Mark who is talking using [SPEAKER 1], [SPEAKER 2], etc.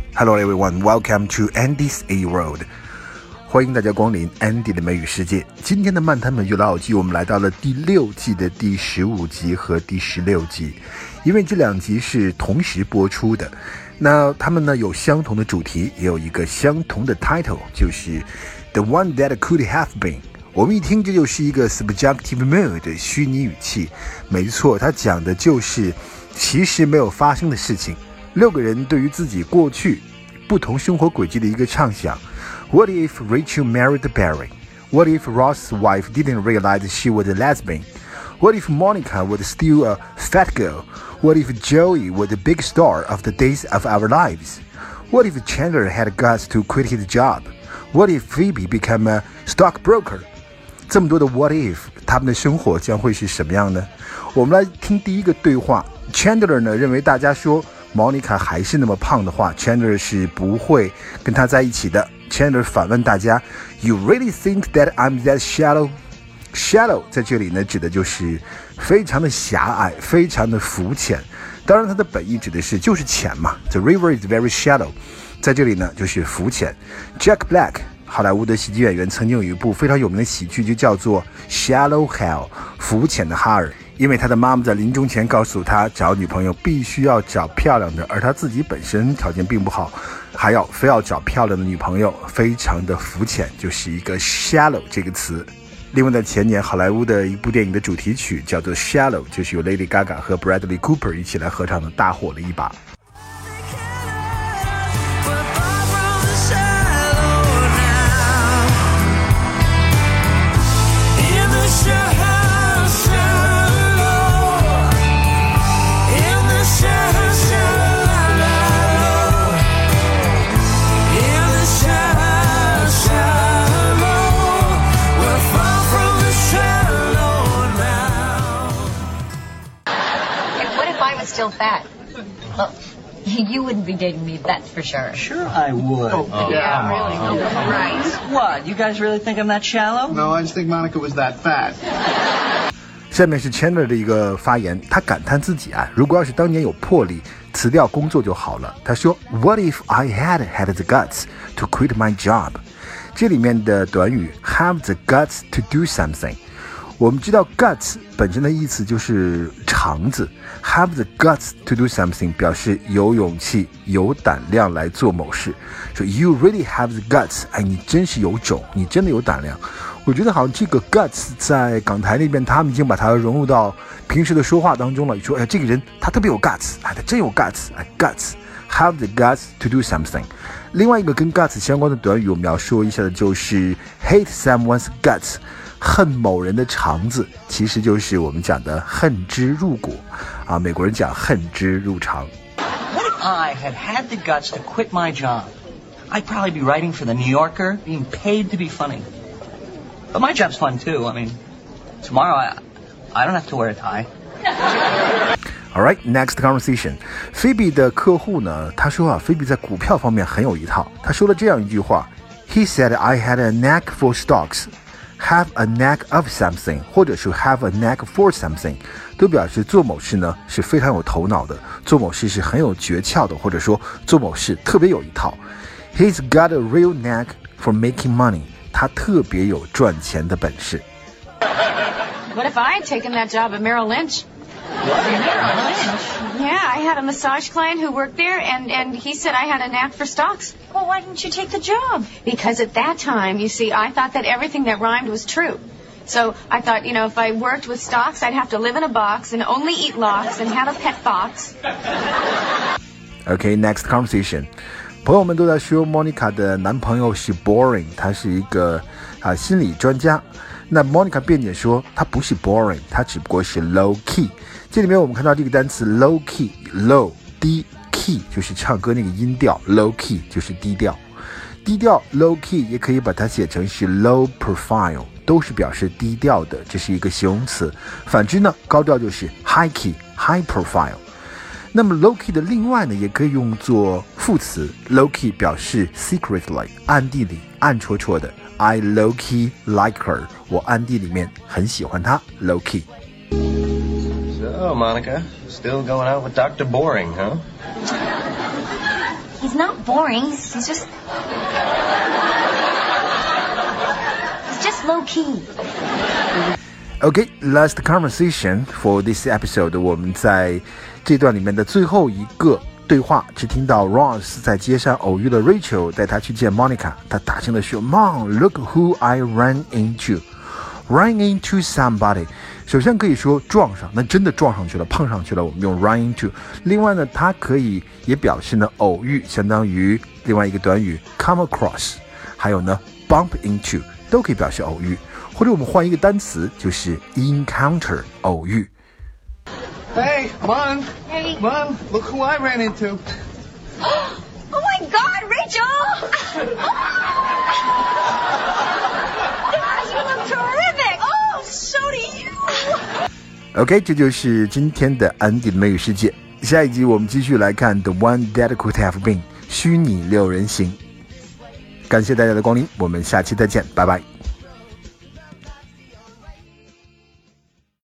[SPEAKER 1] Hello everyone, welcome to Andy's A World. 欢迎大家光临 Andy 的美语世界。今天的漫谈美剧老友记，我们来到了第6季的第15集和第16集，因为这2集是同时播出的。那他们呢有相同的主题，也有一个相同的 title， 就是 The One That Could Have Been。我们一听这就是一个 subjunctive mood 虚拟语气，没错，它讲的就是其实没有发生的事情。6个人对于自己过去不同生活轨迹的一个畅想。What if Rachel married Barry? What if Ross's wife didn't realize she was a lesbian? What if Monica was still a fat girl? What if Joey was the big star of the days of our lives? What if Chandler had guts to quit his job? What if Phoebe became a stockbroker? 这么多的 what if， 他们的生活将会是什么样呢？我们来听第一个对话。Chandler 呢认为大家说 Monica 还是那么胖的话 Chandler 是不会跟他在一起的。Chandler 反问大家 You really think that I'm that shallow? Shallow 在这里呢指的就是非常的狭隘，非常的肤浅。当然它的本意指的是就是浅嘛， The river is very shallow， 在这里呢就是肤浅。 Jack Black好莱坞的喜剧演员曾经有一部非常有名的喜剧就叫做 Shallow Hal 肤浅的哈尔，因为他的妈妈在临终前告诉他找女朋友必须要找漂亮的，而他自己本身条件并不好，还要非要找漂亮的女朋友，非常的肤浅，就是一个 shallow 这个词。另外在前年好莱坞的一部电影的主题曲叫做 Shallow， 就是由 Lady Gaga 和 Bradley Cooper 一起来合唱的，大火了一把。
[SPEAKER 2] Still fat. Well, you wouldn't be dating me, that's for sure.
[SPEAKER 3] Sure I would.
[SPEAKER 2] Yeah, really. Right.
[SPEAKER 3] What? You guys really think I'm that shallow?
[SPEAKER 4] No, I just think Monica was that fat.
[SPEAKER 1] 下面是 Chandler 的一个发言，他感叹自己如果要是当年有魄力，辞掉工作就好了。他说 What if I had the guts to quit my job? 这里面的短语 have the guts to do something，我们知道 guts 本身的意思就是肠子， have the guts to do something 表示有勇气有胆量来做某事，说 you really have the guts， 你真是有种，你真的有胆量。我觉得好像这个 guts 在港台那边他们已经把它融入到平时的说话当中了，说这个人他特别有 guts， 他真有 guts， guts have the guts to do something。 另外一个跟 guts 相关的短语我们要说一下的就是 hate someone's guts，恨某人的肠子，其实就是我们讲的恨之入骨美国人讲恨之入肠。
[SPEAKER 3] What if I had the guts to quit my job? I'd probably be writing for the New Yorker, being paid to be funny. But my job's fun too. I mean, tomorrow I don't have to wear a tie.
[SPEAKER 1] Alright, next conversation. Phoebe 的客户呢，他说Phoebe 在股票方面很有一套。他说了这样一句话 He said I had a knack for stocks.Have a knack of something 或者是 have a knack for something 都表示做某事呢是非常有头脑的，做某事是很有诀窍的，或者说做某事特别有一套。 He's got a real knack for making money， 他特别有赚钱的本事。
[SPEAKER 5] What if I had taken that job at Merrill Lynch? Yeah, I had a massage client who worked there, and he said I had a knack for stocks.
[SPEAKER 2] Well, why didn't you take the job?
[SPEAKER 5] Because at that time, you see, I thought that everything that rhymed was true. So I thought, if I worked with stocks, I'd have to live in a box and only eat lox and have a pet fox.
[SPEAKER 1] Okay, next conversation. 朋友们都在说 Monica 的男朋友是 boring， 他是一个心理专家。那 Monica 辩解说他不是 boring， 他只不过是 low key。这里面我们看到这个单词 low key， low 低 key 就是唱歌那个音调， low key 就是低调。低调 low key 也可以把它写成是 low profile， 都是表示低调的，这是一个形容词。反之呢，高调就是 high key high profile。那么 low key 的另外呢，也可以用作副词 low key 表示 secretly 暗地里暗戳戳的。I low key like her， 我暗地里面很喜欢她 low key。
[SPEAKER 6] So Monica, still going out with Dr. Boring, huh?
[SPEAKER 2] He's not boring. He's just low key.
[SPEAKER 1] Okay, last conversation for this episode. 我们在这段里面的最后一个对话，只听到 Ross 在街上偶遇了 Rachel， 带她去见 Monica。他大声地说 Mom, look who I ran into. Run into somebody. 首先可以说撞上，那真的撞上去了，碰上去了，我们用 run into。另外呢，它可以也表示呢偶遇，相当于另外一个短语 come across。还有呢 bump into 都可以表示偶遇。或者我们换一个单词，就是 encounter 偶遇。
[SPEAKER 4] Hey, come on.
[SPEAKER 2] Hey.
[SPEAKER 4] Come on, look who I ran into.
[SPEAKER 2] Oh my God, Rachel! Gosh, you look terrific! Oh, so do you!
[SPEAKER 1] OK， 这就是今天的安迪的美语世界。下一集我们继续来看 The One That Could Have Been 虚拟六人行。感谢大家的光临，我们下期再见，拜拜。